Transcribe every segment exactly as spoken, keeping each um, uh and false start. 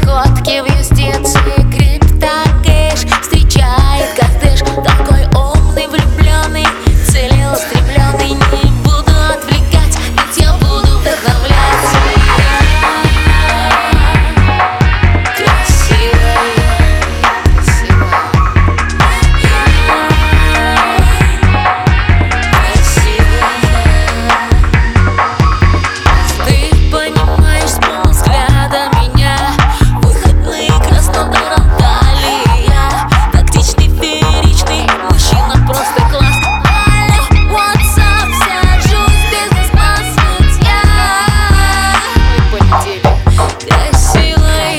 сходки в юстиции криптокэш встречает коттедж. Такой умный, влюбленный, целеустремленный. Не буду отвлекать, ведь я буду вдохновлять. Красивая, красивая, красивая. Ты понимаешь с полвзгляда меня. Выходные Краснодаром далее. Тактичный, фееричный мужчина, просто класс. Алло, what's up, сажусь, бизнес-класс, ведь я мой понедельник. Красивая,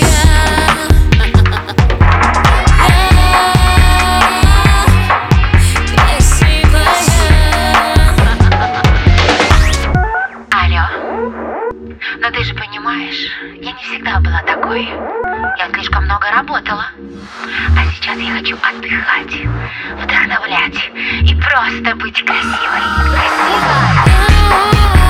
Алло, но ты же понимаешь, я не всегда была такой. Я слишком много работала. А сейчас я хочу отдыхать, вдохновлять и просто быть красивой. Красивой!